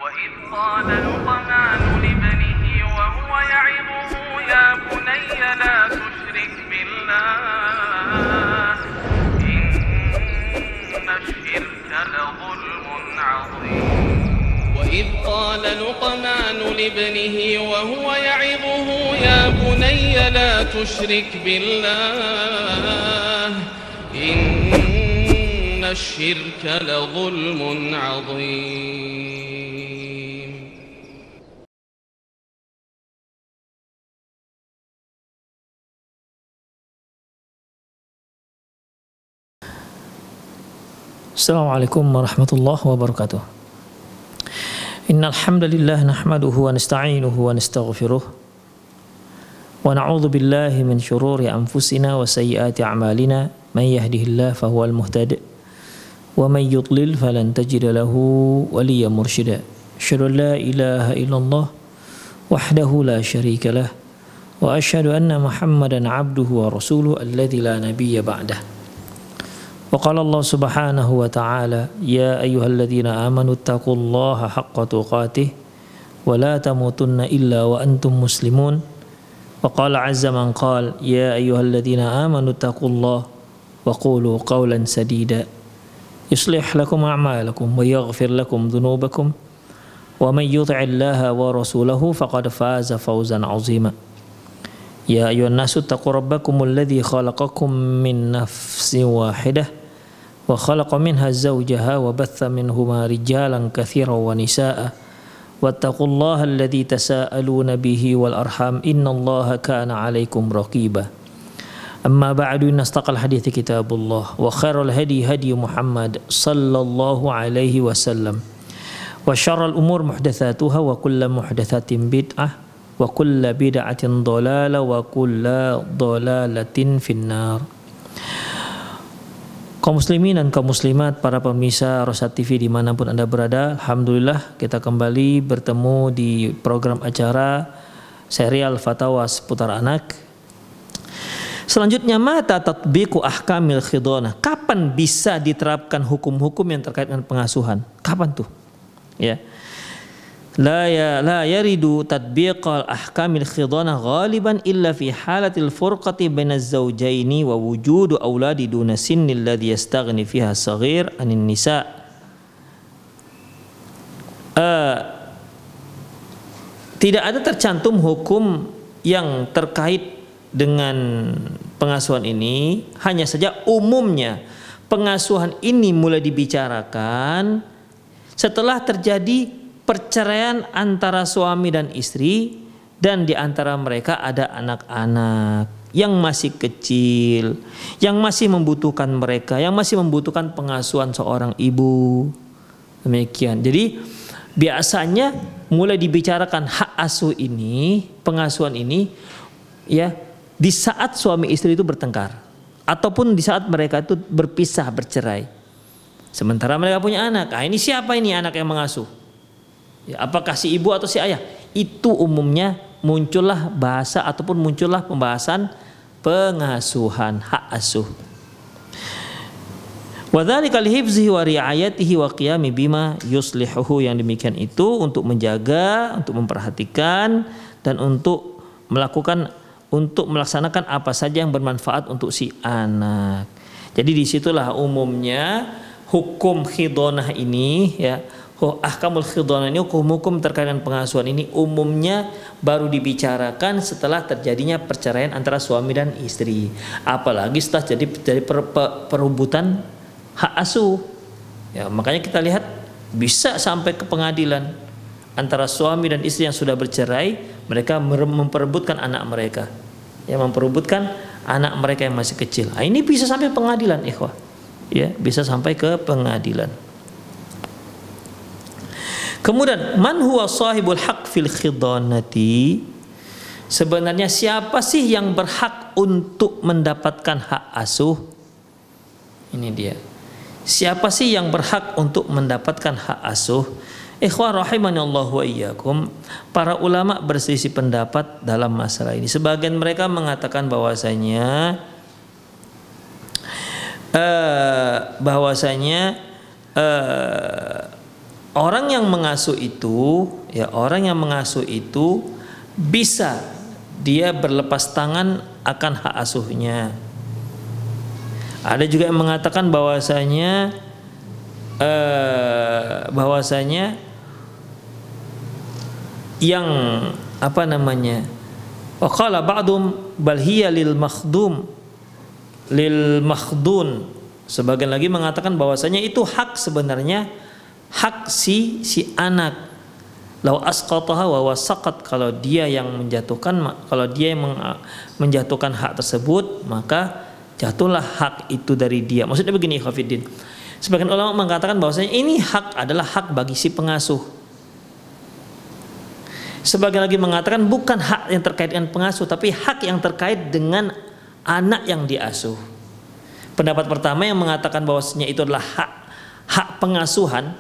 وإذ قال لقمان لابنه وهو يعظه يا بني لا تشرك بالله إن الشرك لظلم عظيم وإذ قال لقمان لابنه وهو يعظه يا بني لا تشرك بالله إن الشرك لظلم عظيم. Assalamualaikum warahmatullahi wabarakatuh. Innal hamdalillah nahmaduhu wa nasta'inuhu wa nastaghfiruh wa na'udzu billahi min shururi anfusina wa sayyiati a'malina may yahdihillahu fahuwal muhtadi wa may yudlil falan tajida lahu waliyyan mursyida. Asyhadu an la ilaha illallah wahdahu la syarika lah wa asyhadu anna Muhammadan 'abduhu wa rasuluhu alladzi la nabiyya ba'dah. وقال الله سبحانه وتعالى يا أيها الذين آمنوا اتقوا الله حق تقاته ولا تموتن إلا وأنتم مسلمون وقال عز من قال يا أيها الذين آمنوا اتقوا الله وقولوا قولا سديدا يصلح لكم أعمالكم ويغفر لكم ذنوبكم ومن يطع الله ورسوله فقد فاز فوزا عظيما يا أيها الناس اتقوا ربكم الذي خلقكم من نفس واحدة وخلق منها زوجها وبث منهما رجالا كثيرا ونساء واتقوا الله الذي تساءلون به والأرحام إن الله كان عليكم رقيبا أما بعد إن أصدق الحديث كتاب الله وخير الهدي هدي محمد صلى الله عليه وسلم وشر الأمور محدثاتها وكل محدثة بدعة وكل بدعة ضلالة وكل ضلالة في النار. Kaum muslimin dan kaum muslimat, para pemirsa Rosyad TV dimanapun Anda berada, alhamdulillah kita kembali bertemu di program acara serial Fatawa seputar anak. Selanjutnya, mata tatbiqu ahkamil khidhanah. Kapan bisa diterapkan hukum-hukum yang terkait dengan pengasuhan? Kapan tuh? Ya. La yaridu tatbiqal ahkamil khidhanah ghaliban illa fi halatil furqati bainaz zawjaini wa wujudu auladi duna sinnil ladzi yastaghni fiha saghir anin nisa. Tidak ada tercantum hukum yang terkait dengan pengasuhan ini, hanya saja umumnya pengasuhan ini mulai dibicarakan setelah terjadi perceraian antara suami dan istri dan di antara mereka ada anak-anak yang masih kecil, yang masih membutuhkan mereka, yang masih membutuhkan pengasuhan seorang ibu. Demikian. Jadi biasanya mulai dibicarakan hak asuh ini, pengasuhan ini ya di saat suami istri itu bertengkar ataupun di saat mereka itu berpisah, bercerai. Sementara mereka punya anak. Nah, ini siapa ini anak yang mengasuh? Ya, apakah si ibu atau si ayah? Itu umumnya muncullah bahasa ataupun muncullah pembahasan pengasuhan, hak asuh. Wa dzalika li hifzihi wa ri'ayatihi wa qiyami bima yuslihuhu, yang demikian itu untuk menjaga, untuk memperhatikan dan untuk melaksanakan apa saja yang bermanfaat untuk si anak. Jadi disitulah umumnya hukum khidhanah ini ya. Ahkamul khidhanah ini, hukum-hukum terkait dengan pengasuhan ini umumnya baru dibicarakan setelah terjadinya perceraian antara suami dan istri. Apalagi setelah jadi perebutan hak asuh. Ya, makanya kita lihat bisa sampai ke pengadilan antara suami dan istri yang sudah bercerai, mereka memperebutkan anak mereka. Ya, memperebutkan anak mereka yang masih kecil. Nah, ini bisa sampai pengadilan, ikhwah. Ya, bisa sampai ke pengadilan. Kemudian man huwa sahibul haq fil khidhanati, sebenarnya siapa sih yang berhak untuk mendapatkan hak asuh? Ini dia. Siapa sih yang berhak untuk mendapatkan hak asuh? Ikhwan rahimanallahu wa iyyakum, para ulama berselisih pendapat dalam masalah ini. Sebagian mereka mengatakan bahwasanya orang yang mengasuh itu, ya orang yang mengasuh itu bisa dia berlepas tangan akan hak asuhnya. Ada juga yang mengatakan bahwasanya yang apa namanya? Wa qala ba'dum bal hiya lil makhdum lil makhdun. Sebagian lagi mengatakan bahwasanya itu hak sebenarnya hak si anak. Lau asqataha wa wasaqat, kalau dia yang menjatuhkan, kalau dia yang menjatuhkan hak tersebut, maka jatuhlah hak itu dari dia. Maksudnya begini, Khafiddin. Sebagian ulama mengatakan bahwasanya ini hak adalah hak bagi si pengasuh. Sebagian lagi mengatakan bukan hak yang terkait dengan pengasuh, tapi hak yang terkait dengan anak yang diasuh. Pendapat pertama yang mengatakan bahwasanya itu adalah hak pengasuhan.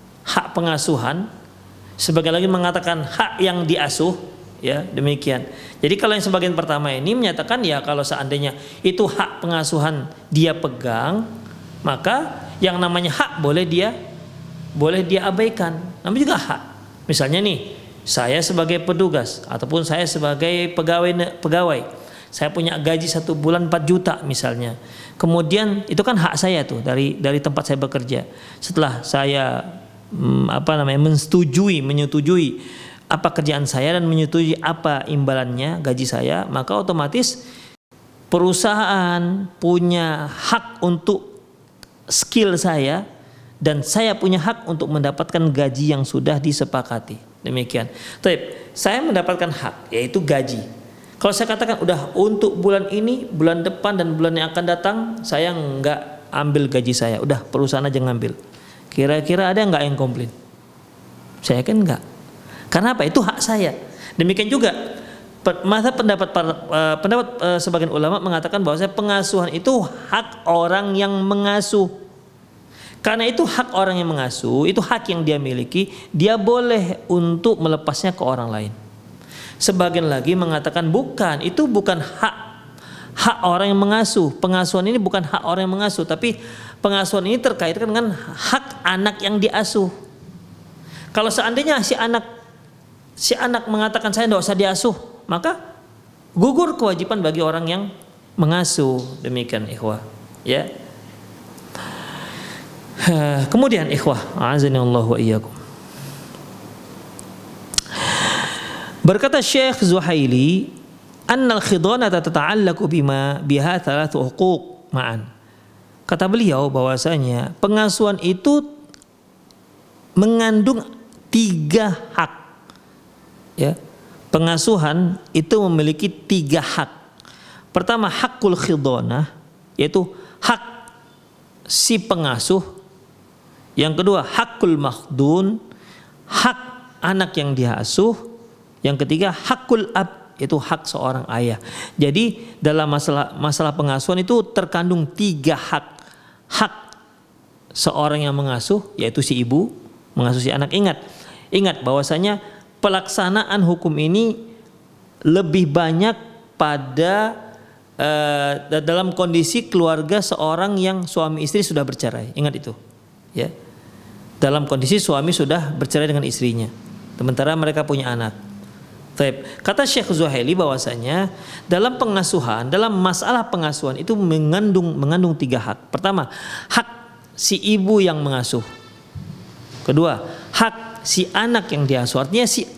Sebagian lagi mengatakan hak yang diasuh, ya demikian. Jadi kalau yang sebagian pertama ini menyatakan ya kalau seandainya itu hak pengasuhan dia pegang, maka yang namanya hak boleh dia abaikan. Namanya juga hak. Misalnya nih, saya sebagai petugas ataupun saya sebagai pegawai, saya punya gaji 1 bulan 4 juta misalnya. Kemudian itu kan hak saya tuh dari tempat saya bekerja. Setelah saya menyetujui apa kerjaan saya dan menyetujui apa imbalannya gaji saya, maka otomatis perusahaan punya hak untuk skill saya dan saya punya hak untuk mendapatkan gaji yang sudah disepakati. Demikian. Tapi saya mendapatkan hak yaitu gaji. Kalau saya katakan udah untuk bulan ini, bulan depan dan bulan yang akan datang saya nggak ambil gaji saya, udah perusahaan aja ngambil. Kira-kira ada nggak yang komplain? Saya kan nggak. Karena apa? Itu hak saya. Demikian juga pendapat sebagian ulama mengatakan bahwa pengasuhan itu hak orang yang mengasuh. Karena itu hak orang yang mengasuh, itu hak yang dia miliki, dia boleh untuk melepasnya ke orang lain. Sebagian lagi mengatakan bukan, itu bukan hak orang yang mengasuh. Pengasuhan ini bukan hak orang yang mengasuh, tapi pengasuhan ini terkait dengan hak anak yang diasuh. Kalau seandainya si anak mengatakan saya tidak usah diasuh, maka gugur kewajiban bagi orang yang mengasuh. Demikian ikhwah, ya. Kemudian ikhwah, a'azanillahu wa iyyakum. Berkata Syekh Zuhaili, annal khidhanata tata'allaqu biha thalathu huquq ma'an. Kata beliau bahwasanya pengasuhan itu mengandung 3 hak. Ya. Pengasuhan itu memiliki 3 hak. Pertama hakul khidhanah, yaitu hak si pengasuh. Yang kedua hakul makhdun, hak anak yang diasuh. Yang ketiga hakul ab, yaitu hak seorang ayah. Jadi dalam masalah pengasuhan itu terkandung 3 hak. Hak seorang yang mengasuh, yaitu si ibu mengasuh si anak. Ingat bahwasanya pelaksanaan hukum ini lebih banyak pada dalam kondisi keluarga seorang yang suami istri sudah bercerai. Ingat itu, ya. Dalam kondisi suami sudah bercerai dengan istrinya, sementara mereka punya anak. Kata Syekh Zuhaili bahwasanya dalam pengasuhan, dalam masalah pengasuhan itu mengandung 3 hak. Pertama, hak si ibu yang mengasuh. Kedua, hak si anak yang diasuh. Artinya si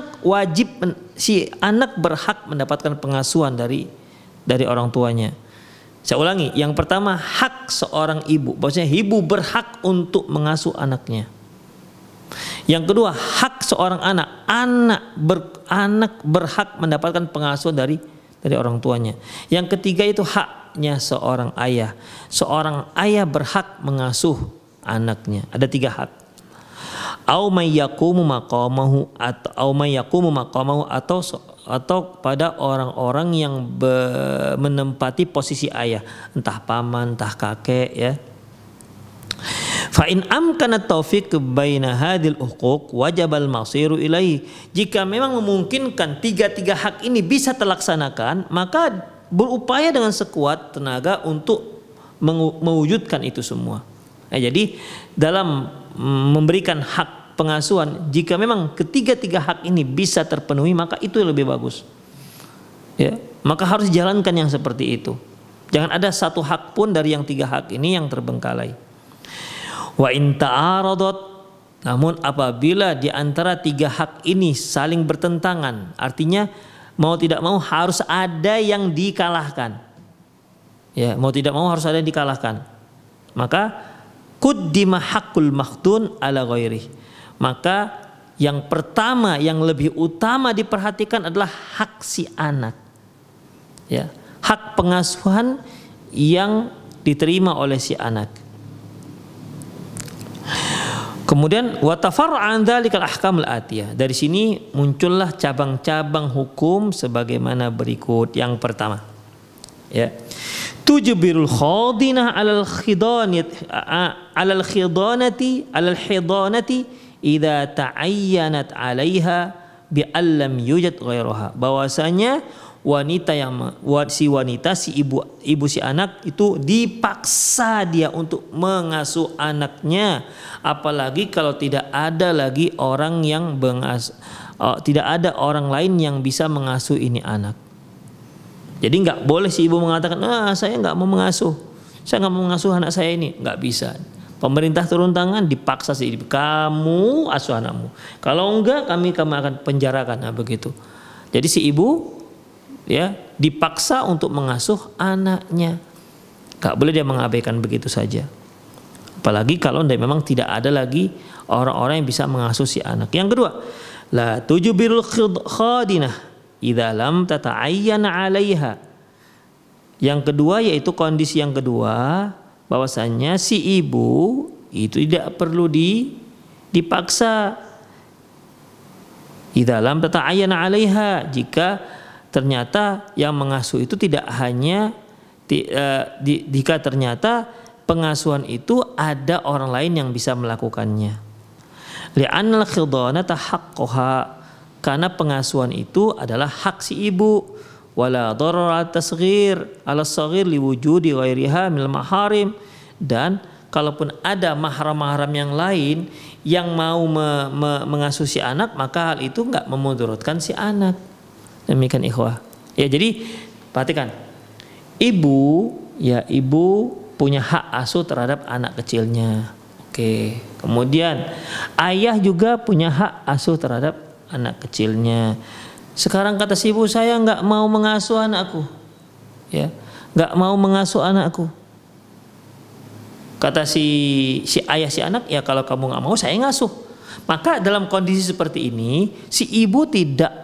anak berhak mendapatkan pengasuhan dari orang tuanya. Saya ulangi, yang pertama hak seorang ibu, bahwasanya ibu berhak untuk mengasuh anaknya. Yang kedua, hak seorang anak berhak mendapatkan pengasuhan dari orang tuanya. Yang ketiga itu haknya seorang ayah. Seorang ayah berhak mengasuh anaknya. Ada 3 hak. Au may yaqumu maqamahu atau pada orang-orang yang menempati posisi ayah, entah paman, entah kakek, ya. Fa in amkana taufiq baina hadhil huquq wajibal masiru ilaihi. Jika memang memungkinkan 3 hak ini bisa terlaksanakan, maka berupaya dengan sekuat tenaga untuk mewujudkan itu semua. Jadi dalam memberikan hak hak pengasuhan, jika memang ketiga-tiga hak ini bisa terpenuhi, maka itu yang lebih bagus. Ya, maka harus dijalankan yang seperti itu. Jangan ada satu hak pun dari yang tiga hak ini yang terbengkalai. Wa in ta'aradat, namun apabila di antara tiga hak ini saling bertentangan, artinya mau tidak mau harus ada yang dikalahkan. Ya, mau tidak mau harus ada yang dikalahkan. Maka quddima haqqul makhtun ala ghairi. Maka yang pertama yang lebih utama diperhatikan adalah hak si anak. Ya, hak pengasuhan yang diterima oleh si anak. Kemudian wa tafarra'an dzalikal ahkamul atiyah. Dari sini muncullah cabang-cabang hukum sebagaimana berikut. Yang pertama, ya, tujbirul khadinah alal khidanati idza ta'ayyanat 'alaiha bi allam yujad ghairuha. Bahwasanya si ibu si anak itu dipaksa dia untuk mengasuh anaknya, apalagi kalau tidak ada lagi orang yang tidak ada orang lain yang bisa mengasuh ini anak. Jadi nggak boleh si ibu mengatakan, saya nggak mau mengasuh, saya nggak mau mengasuh anak saya ini, nggak bisa. Pemerintah turun tangan, dipaksa si ibu, kamu asuh anakmu. Kalau enggak, kami akan penjarakan. Nah begitu. Jadi si ibu, ya, dipaksa untuk mengasuh anaknya. Gak boleh dia mengabaikan begitu saja. Apalagi kalau memang tidak ada lagi orang-orang yang bisa mengasuh si anak. Yang kedua, la tujbirul khadinah idza lam tata'ayyana 'alaiha. Yang kedua yaitu kondisi yang kedua, bahwasanya si ibu itu tidak perlu dipaksa. Idza lam tata'ayyana 'alaiha, jika ternyata yang mengasuh itu tidak hanya jika ternyata pengasuhan itu ada orang lain yang bisa melakukannya. Li'annal khidanata haqqaha, karena pengasuhan itu adalah hak si ibu. Wala darara tasghir ala saghir liwujudi ghairiha minal maharim, dan kalaupun ada mahram-mahram yang lain yang mau mengasuh si anak, maka hal itu enggak memudaratkan si anak. Demikian ikhwah. Ya, jadi perhatikan. Ibu punya hak asuh terhadap anak kecilnya. Oke. Kemudian ayah juga punya hak asuh terhadap anak kecilnya. Sekarang kata si ibu, saya nggak mau mengasuh anakku. Ya, nggak mau mengasuh anakku. Kata si ayah si anak, ya kalau kamu nggak mau, saya ngasuh. Maka dalam kondisi seperti ini, si ibu tidak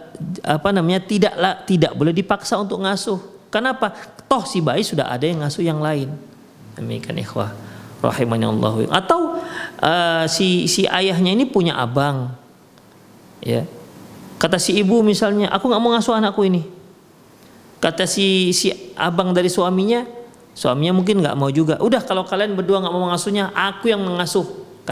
boleh dipaksa untuk ngasuh. Kenapa? Toh si bayi sudah ada yang ngasuh yang lain. Demikian ikhwah rahimani Allah. Atau si ayahnya ini punya abang. Ya. Kata si ibu misalnya, aku nggak mau ngasuh anakku ini. Kata si abang dari suaminya mungkin nggak mau juga. Udah, kalau kalian berdua nggak mau mengasuhnya, aku yang mengasuh.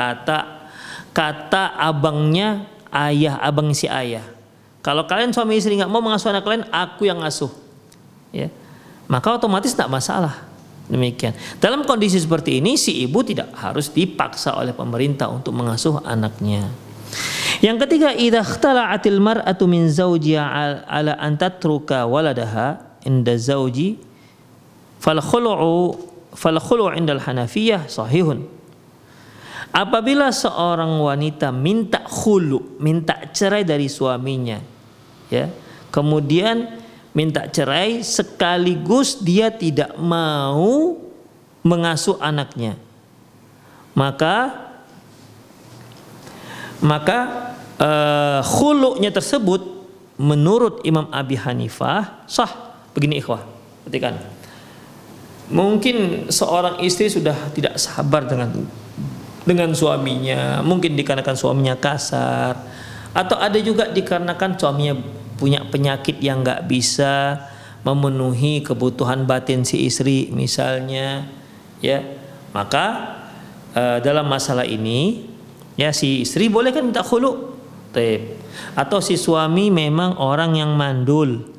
Kata abangnya, abang si ayah. Kalau kalian suami istri nggak mau mengasuh anak kalian, aku yang ngasuh. Ya, maka otomatis tidak masalah. Demikian. Dalam kondisi seperti ini, si ibu tidak harus dipaksa oleh pemerintah untuk mengasuh anaknya. Yang ketiga, idza ikhtala'atil mar'atu min zawjiha ala an tatruka waladaha inda zawji fal khulu'u indal Hanafiyah sahihun. Apabila seorang wanita minta cerai dari suaminya, ya, kemudian minta cerai sekaligus dia tidak mau mengasuh anaknya, maka khulu'nya tersebut menurut Imam Abi Hanifah sah. Begini ikhwah, perhatikan. Mungkin seorang istri sudah tidak sabar dengan suaminya, mungkin dikarenakan suaminya kasar, atau ada juga dikarenakan suaminya punya penyakit yang nggak bisa memenuhi kebutuhan batin si istri misalnya, ya. Maka dalam masalah ini, ya, si istri boleh kan minta khulu'. Atau si suami memang orang yang mandul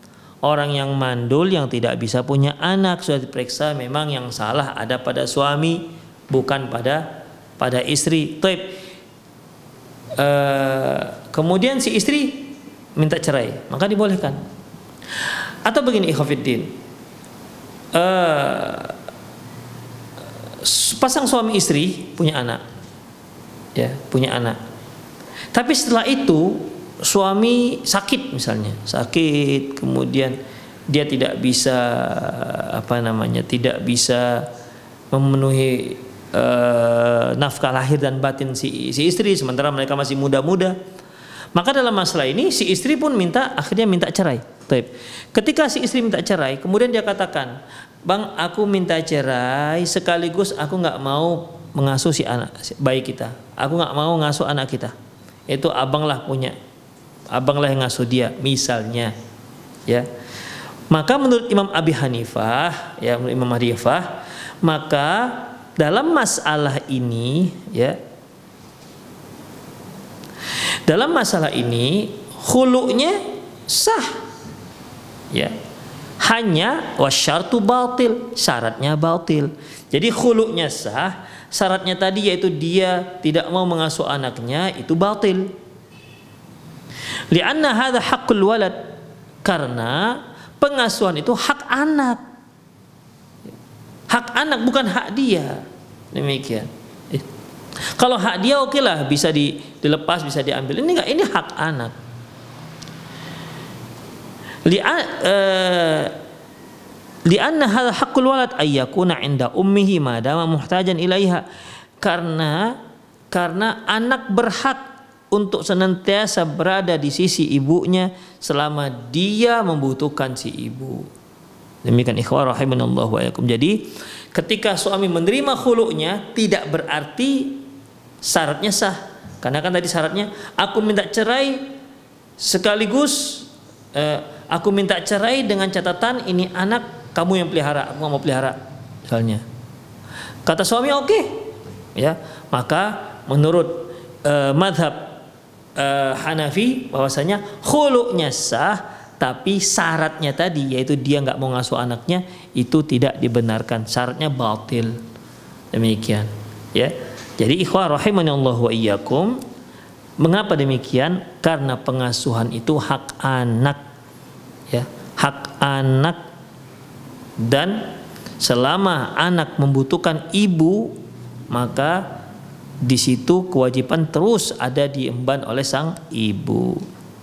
yang tidak bisa punya anak, sudah diperiksa memang yang salah ada pada suami bukan pada istri. kemudian si istri minta cerai, maka dibolehkan. Atau begini ikhwatiddin, pasang suami istri punya anak, ya punya anak. Tapi setelah itu suami sakit misalnya, sakit, kemudian dia tidak bisa tidak bisa memenuhi nafkah lahir dan batin si istri, sementara mereka masih muda-muda. Maka dalam masalah ini si istri pun akhirnya minta cerai. Ketika si istri minta cerai, kemudian dia katakan, "Bang, aku minta cerai sekaligus aku nggak mau mengasuh si anak bayi kita. Aku nggak mau ngasuh anak kita. Itu abang lah yang ngasuh dia," misalnya, ya. Maka menurut Imam Abi Hanifah, ya, menurut Imam Hanifah, maka dalam masalah ini, ya, dalam masalah ini khulu'nya sah, ya. Hanya wasyartu batil, syaratnya batil. Jadi khulu'nya sah, syaratnya tadi yaitu dia tidak mau mengasuh anaknya itu batil. Li'anna hadza haqqul walad, karena pengasuhan itu hak anak. Hak anak bukan hak dia. Demikian. Kalau hak dia oke lah, bisa dilepas, bisa diambil. Ini enggak, ini hak anak. Li'anna hadza haqqul walad ayyakuna 'inda ummihi ma dama muhtajan ilaiha. Karena anak berhak untuk senantiasa berada di sisi ibunya selama dia membutuhkan si ibu. Demikian ikhwah rahimanallahu wa iyyakum. Jadi ketika suami menerima khulu'nya tidak berarti syaratnya sah. Karena kan tadi syaratnya aku minta cerai sekaligus aku minta cerai dengan catatan ini anak kamu yang pelihara, aku nggak mau pelihara misalnya. Kata suami oke, ya, maka menurut madhab Hanafi bahwasanya khulu'nya sah, tapi syaratnya tadi yaitu dia nggak mau ngasuh anaknya itu tidak dibenarkan, syaratnya batil. Demikian, ya. Jadi ikhwah rahimanallahu wa iyyakum, mengapa demikian? Karena pengasuhan itu hak anak, ya, hak anak, dan selama anak membutuhkan ibu maka di situ kewajiban terus ada diemban oleh sang ibu.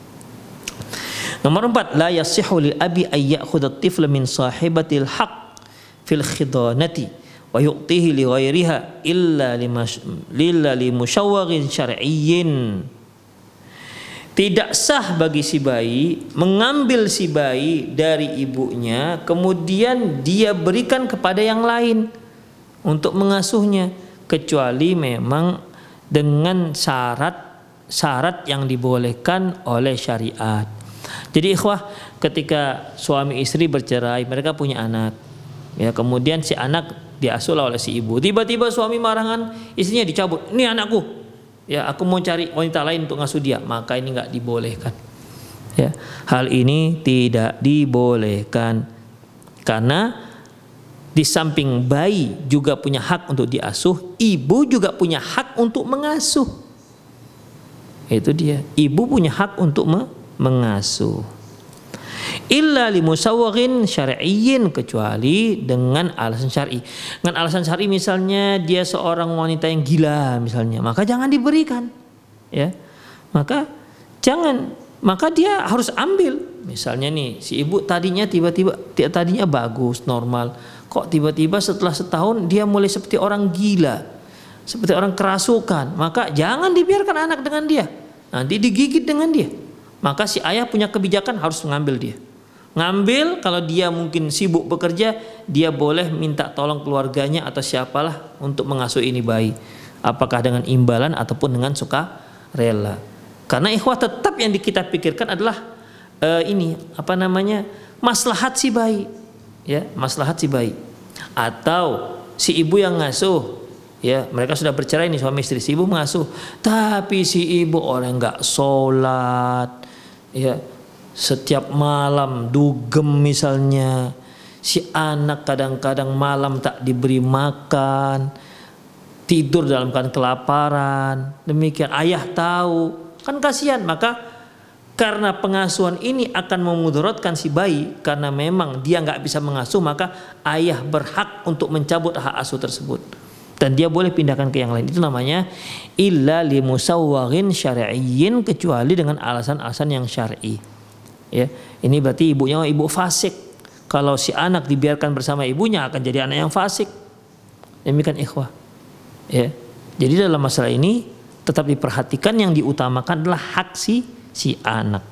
Nomor 4, la yasihhu lil abi ay ya'khudha at-tifla min sahibatil haqq fil khidanati wa yu'tihi li ghairiha illa li musyawwaghin syar'iyyin. Tidak sah bagi si bayi mengambil si bayi dari ibunya kemudian dia berikan kepada yang lain untuk mengasuhnya, kecuali memang dengan syarat yang dibolehkan oleh syariat. Jadi ikhwah, ketika suami istri bercerai, mereka punya anak, ya, kemudian si anak diasuh oleh si ibu. Tiba-tiba suami marahan istrinya dicabut, ini anakku, ya, aku mau cari wanita lain untuk ngasuh dia. Maka ini nggak dibolehkan, ya. Hal ini tidak dibolehkan karena di samping bayi juga punya hak untuk diasuh, ibu juga punya hak untuk mengasuh. Itu dia, ibu punya hak untuk mengasuh. Illa li musawwaghin syar'iyyin, kecuali dengan alasan syar'i. Dengan alasan syar'i misalnya dia seorang wanita yang gila misalnya, maka jangan diberikan, ya. Maka dia harus ambil. Misalnya nih, si ibu tadinya bagus, normal. Kok tiba-tiba setelah setahun dia mulai seperti orang gila, seperti orang kerasukan, maka jangan dibiarkan anak dengan dia. Nanti digigit dengan dia. Maka si ayah punya kebijakan harus mengambil dia. Ngambil, kalau dia mungkin sibuk bekerja, dia boleh minta tolong keluarganya atau siapalah untuk mengasuh ini bayi. Apakah dengan imbalan ataupun dengan suka rela. Karena ikhwah tetap yang kita pikirkan adalah maslahat si bayi. Ya, maslahat si bayi. Atau si ibu yang ngasuh, ya, mereka sudah bercerai nih suami istri, si ibu mengasuh, tapi si ibu orang nggak sholat, ya, setiap malam dugem misalnya, si anak kadang-kadang malam tak diberi makan, tidur dalam keadaan kelaparan, demikian ayah tahu, kan kasihan. Maka karena pengasuhan ini akan memudaratkan si bayi, karena memang dia nggak bisa mengasuh, maka ayah berhak untuk mencabut hak asuh tersebut dan dia boleh pindahkan ke yang lain. Itu namanya illa limusawwarin syar'iyyin, kecuali dengan alasan-alasan yang syar'i. Ya, ini berarti ibunya ibu fasik. Kalau si anak dibiarkan bersama ibunya akan jadi anak yang fasik. Demikian ikhwah. Ya. Jadi dalam masalah ini tetap diperhatikan, yang diutamakan adalah hak si anak.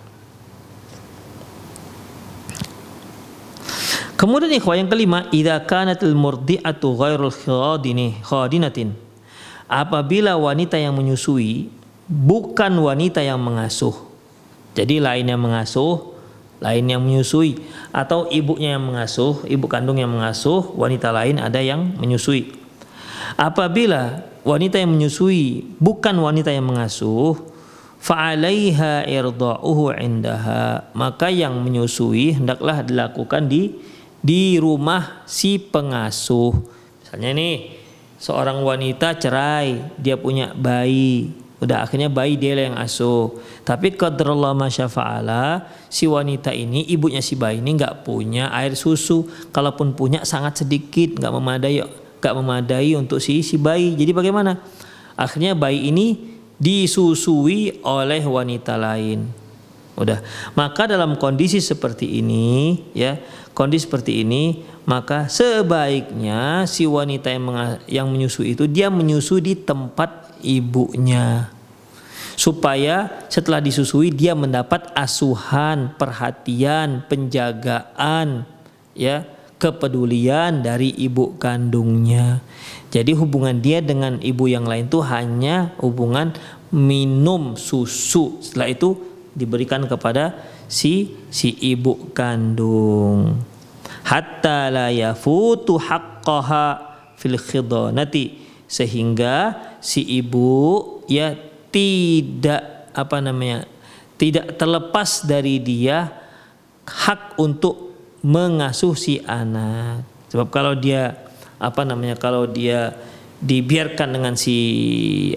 Kemudian ikhwah yang kelima, idza kanatil murdi'atu ghairul khadinatin. Apabila wanita yang menyusui bukan wanita yang mengasuh. Jadi lain yang mengasuh, lain yang menyusui, atau ibunya yang mengasuh, ibu kandung yang mengasuh, wanita lain ada yang menyusui. Apabila wanita yang menyusui bukan wanita yang mengasuh, fa'alaiha irda'uhu indaha, maka yang menyusui hendaklah dilakukan di rumah si pengasuh. Misalnya nih, seorang wanita cerai, dia punya bayi, udah akhirnya bayi dia yang asuh. Tapi qadrallah masyafa'ala, si wanita ini, ibunya si bayi ini nggak punya air susu, kalaupun punya sangat sedikit, nggak memadai untuk si bayi. Jadi bagaimana? Akhirnya bayi ini disusui oleh wanita lain. Udah. Maka dalam kondisi seperti ini, ya, kondisi seperti ini, maka sebaiknya si wanita yang menyusui itu dia menyusui di tempat ibunya, supaya setelah disusui dia mendapat asuhan, perhatian, penjagaan, ya, kepedulian dari ibu kandungnya. Jadi hubungan dia dengan ibu yang lain itu hanya hubungan minum susu. Setelah itu diberikan kepada si ibu kandung. Hatta la yafutu haqqaha fil khidanati, sehingga si ibu ya tidak tidak terlepas dari dia hak untuk mengasuh si anak. Sebab kalau dia kalau dia dibiarkan dengan si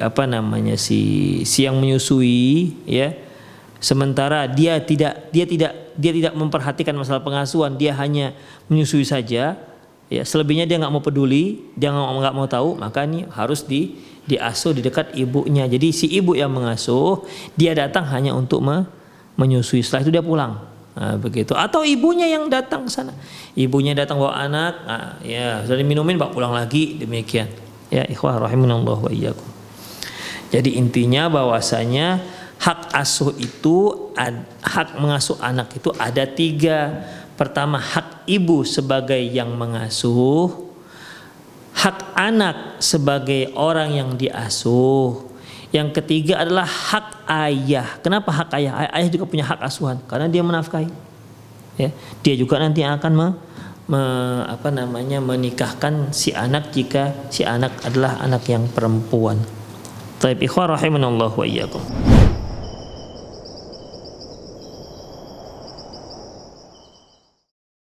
yang menyusui, ya, sementara dia tidak memperhatikan masalah pengasuhan, dia hanya menyusui saja, ya, selebihnya dia nggak mau peduli, dia nggak mau tahu, maka ini harus diasuh di dekat ibunya. Jadi si ibu yang mengasuh, dia datang hanya untuk menyusui, setelah itu dia pulang. Nah, begitu. Atau ibunya yang datang ke sana. Ibunya datang bawa anak, ya, sudah diminumin, bawa pulang lagi, demikian. Ya, ikhwah rahimanallah wa iyyakum. Jadi intinya bahwasanya hak asuh itu, hak mengasuh anak itu ada 3. Pertama, hak ibu sebagai yang mengasuh, hak anak sebagai orang yang diasuh. Yang ketiga adalah hak ayah. Kenapa hak ayah? Ayah juga punya hak asuhan karena dia menafkahi. Ya, dia juga nanti akan menikahkan si anak jika si anak adalah anak yang perempuan. Taib ikhwah rahimanallah wa iyyakum.